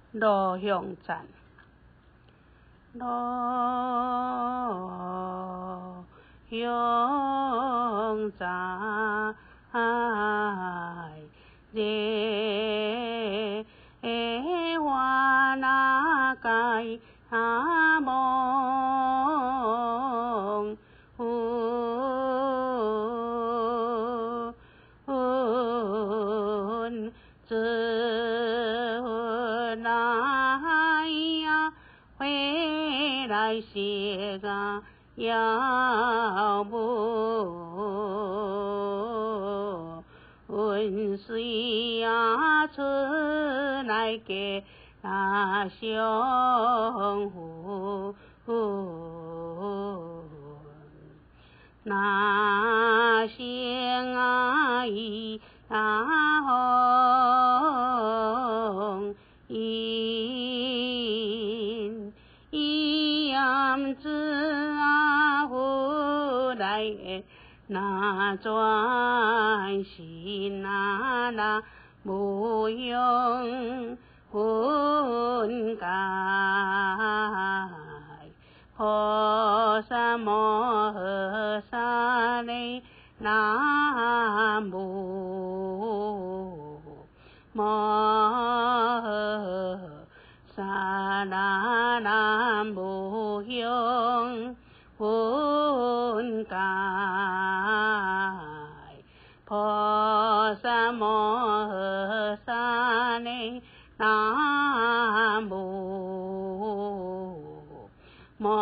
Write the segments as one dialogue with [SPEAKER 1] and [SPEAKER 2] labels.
[SPEAKER 1] 路向赞，路向赞，热花那开梦，回来写个要问水呀出来给那相互那相爱那红样子回来那专心那不用分开，菩萨摩诃萨嘞南无摩诃萨南无用分开，菩萨摩诃萨嘞南无摩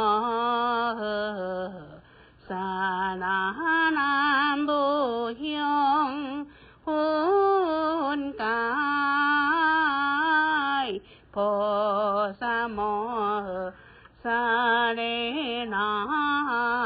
[SPEAKER 1] 诃萨南无用分开，菩萨摩诃萨嘞南